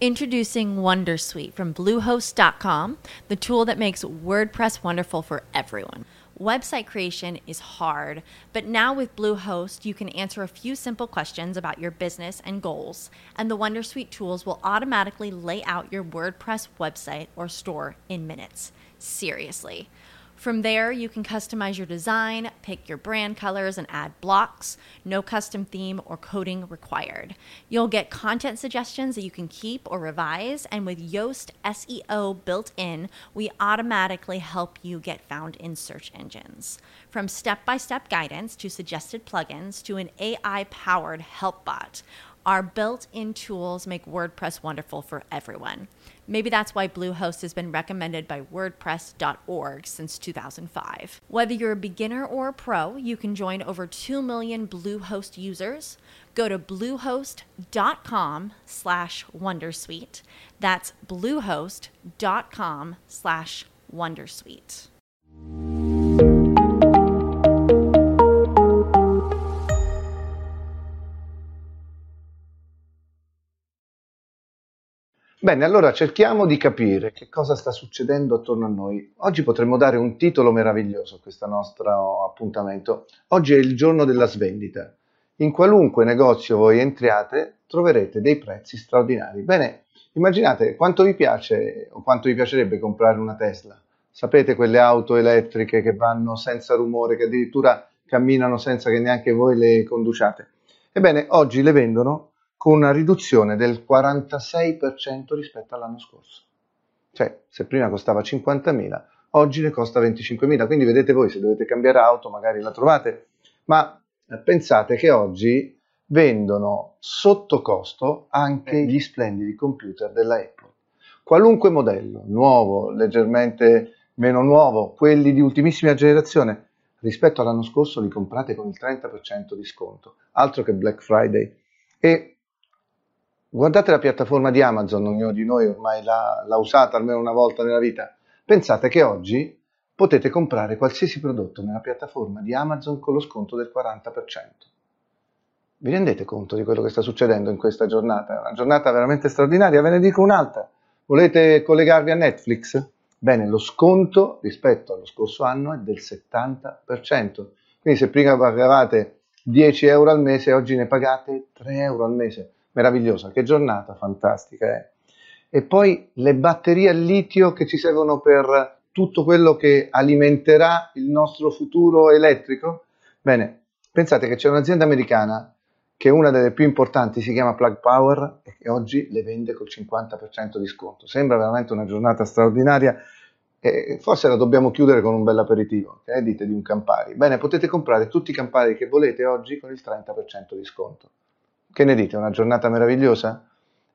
Introducing Wondersuite from Bluehost.com, the tool that makes WordPress wonderful for everyone. Website creation is hard, but now with Bluehost, you can answer a few simple questions about your business and goals, and the Wondersuite tools will automatically lay out your WordPress website or store in minutes. Seriously. From there, you can customize your design, pick your brand colors, and add blocks. No custom theme or coding required. You'll get content suggestions that you can keep or revise, and with Yoast SEO built in, we automatically help you get found in search engines. From step-by-step guidance to suggested plugins to an AI-powered help bot, our built-in tools make WordPress wonderful for everyone. Maybe that's why Bluehost has been recommended by WordPress.org since 2005. Whether you're a beginner or a pro, you can join over 2 million Bluehost users. Go to bluehost.com/wondersuite. That's bluehost.com/wondersuite. Bene, allora cerchiamo di capire che cosa sta succedendo attorno a noi. Oggi potremmo dare un titolo meraviglioso a questo nostro appuntamento. Oggi è il giorno della svendita. In qualunque negozio voi entriate troverete dei prezzi straordinari. Bene, immaginate quanto vi piace o quanto vi piacerebbe comprare una Tesla. Sapete, quelle auto elettriche che vanno senza rumore, che addirittura camminano senza che neanche voi le conduciate. Ebbene, oggi le vendono con una riduzione del 46% rispetto all'anno scorso. Cioè, se prima costava 50.000, oggi ne costa 25.000, quindi vedete voi, se dovete cambiare auto magari la trovate, ma pensate che oggi vendono sotto costo anche gli splendidi computer della Apple. Qualunque modello, nuovo, leggermente meno nuovo, quelli di ultimissima generazione, rispetto all'anno scorso li comprate con il 30% di sconto, altro che Black Friday. E guardate la piattaforma di Amazon, ognuno di noi ormai l'ha usata almeno una volta nella vita. Pensate che oggi potete comprare qualsiasi prodotto nella piattaforma di Amazon con lo sconto del 40%. Vi rendete conto di quello che sta succedendo in questa giornata? È una giornata veramente straordinaria, ve ne dico un'altra. Volete collegarvi a Netflix? Bene, lo sconto rispetto allo scorso anno è del 70%. Quindi se prima pagavate 10 euro al mese, oggi ne pagate 3 euro al mese. Meravigliosa, che giornata fantastica. E poi le batterie al litio che ci servono per tutto quello che alimenterà il nostro futuro elettrico. Bene, pensate che c'è un'azienda americana che è una delle più importanti, si chiama Plug Power, e che oggi le vende col 50% di sconto. Sembra veramente una giornata straordinaria e forse la dobbiamo chiudere con un bel aperitivo. Che ne dite di un Campari? Bene, potete comprare tutti i Campari che volete oggi con il 30% di sconto. Che ne dite? Una giornata meravigliosa?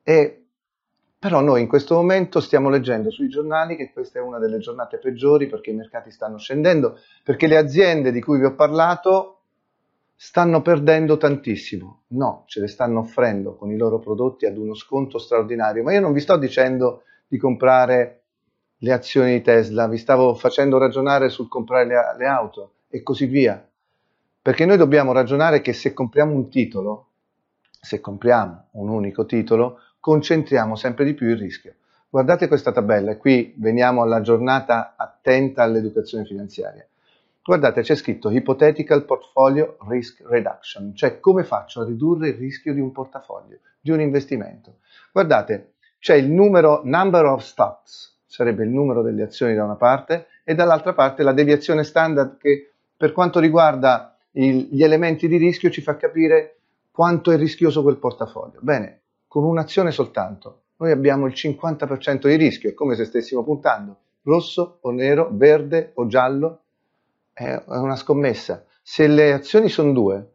Però noi in questo momento stiamo leggendo sui giornali che questa è una delle giornate peggiori perché i mercati stanno scendendo, perché le aziende di cui vi ho parlato stanno perdendo tantissimo. No, ce le stanno offrendo con i loro prodotti ad uno sconto straordinario. Ma io non vi sto dicendo di comprare le azioni di Tesla, vi stavo facendo ragionare sul comprare le auto e così via. Perché noi dobbiamo ragionare che se compriamo un titolo, se compriamo un unico titolo, concentriamo sempre di più il rischio. Guardate questa tabella, e qui veniamo alla giornata attenta all'educazione finanziaria. Guardate, c'è scritto Hypothetical Portfolio Risk Reduction, cioè come faccio a ridurre il rischio di un portafoglio, di un investimento. Guardate, c'è il number of stocks, sarebbe il numero delle azioni da una parte, e dall'altra parte la deviazione standard che per quanto riguarda gli elementi di rischio ci fa capire quanto è rischioso quel portafoglio. Bene, con un'azione soltanto noi abbiamo il 50% di rischio, è come se stessimo puntando rosso o nero, verde o giallo, è una scommessa. Se le azioni sono 2,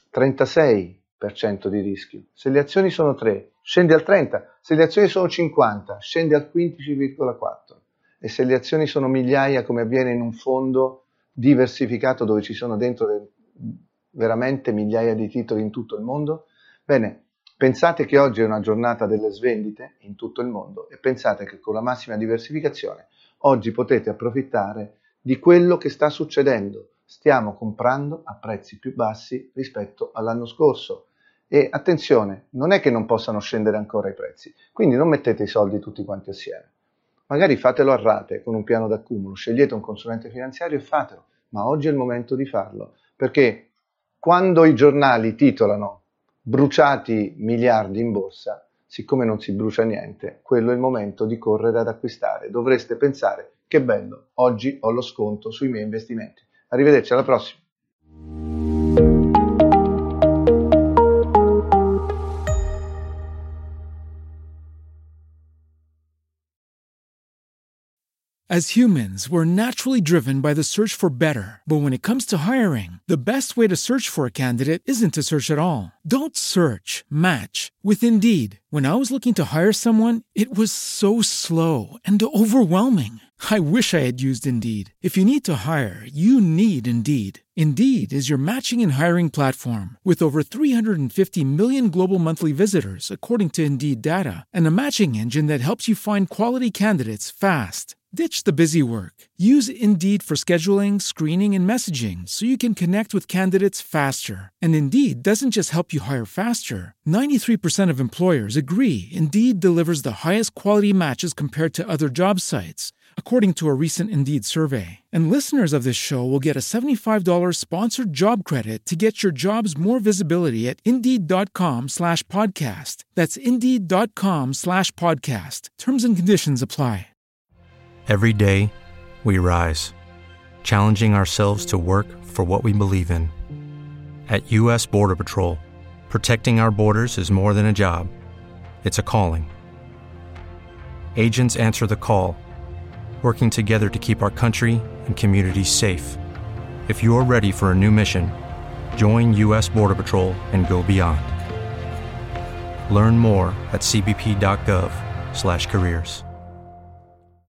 36% di rischio. Se le azioni sono 3, scende al 30. Se le azioni sono 50, scende al 15,4. E se le azioni sono migliaia, come avviene in un fondo diversificato dove ci sono dentro veramente migliaia di titoli in tutto il mondo, bene, pensate che oggi è una giornata delle svendite in tutto il mondo e pensate che con la massima diversificazione oggi potete approfittare di quello che sta succedendo. Stiamo comprando a prezzi più bassi rispetto all'anno scorso E attenzione, non è che non possano scendere ancora i prezzi, quindi non mettete i soldi tutti quanti assieme. Magari fatelo a rate con un piano d'accumulo, scegliete un consulente finanziario e fatelo, ma oggi è il momento di farlo, perché quando i giornali titolano bruciati miliardi in borsa, siccome non si brucia niente, quello è il momento di correre ad acquistare. Dovreste pensare, che bello, oggi ho lo sconto sui miei investimenti. Arrivederci, alla prossima. As humans, we're naturally driven by the search for better. But when it comes to hiring, the best way to search for a candidate isn't to search at all. Don't search, match with Indeed. When I was looking to hire someone, it was so slow and overwhelming. I wish I had used Indeed. If you need to hire, you need Indeed. Indeed is your matching and hiring platform with over 350 million global monthly visitors, according to Indeed data, and a matching engine that helps you find quality candidates fast. Ditch the busy work. Use Indeed for scheduling, screening, and messaging so you can connect with candidates faster. And Indeed doesn't just help you hire faster. 93% of employers agree Indeed delivers the highest quality matches compared to other job sites, according to a recent Indeed survey. And listeners of this show will get a $75 sponsored job credit to get your jobs more visibility at Indeed.com/podcast. That's Indeed.com/podcast. Terms and conditions apply. Every day, we rise, challenging ourselves to work for what we believe in. At U.S. Border Patrol, protecting our borders is more than a job. It's a calling. Agents answer the call, working together to keep our country and communities safe. If you're ready for a new mission, join U.S. Border Patrol and go beyond. Learn more at cbp.gov/careers.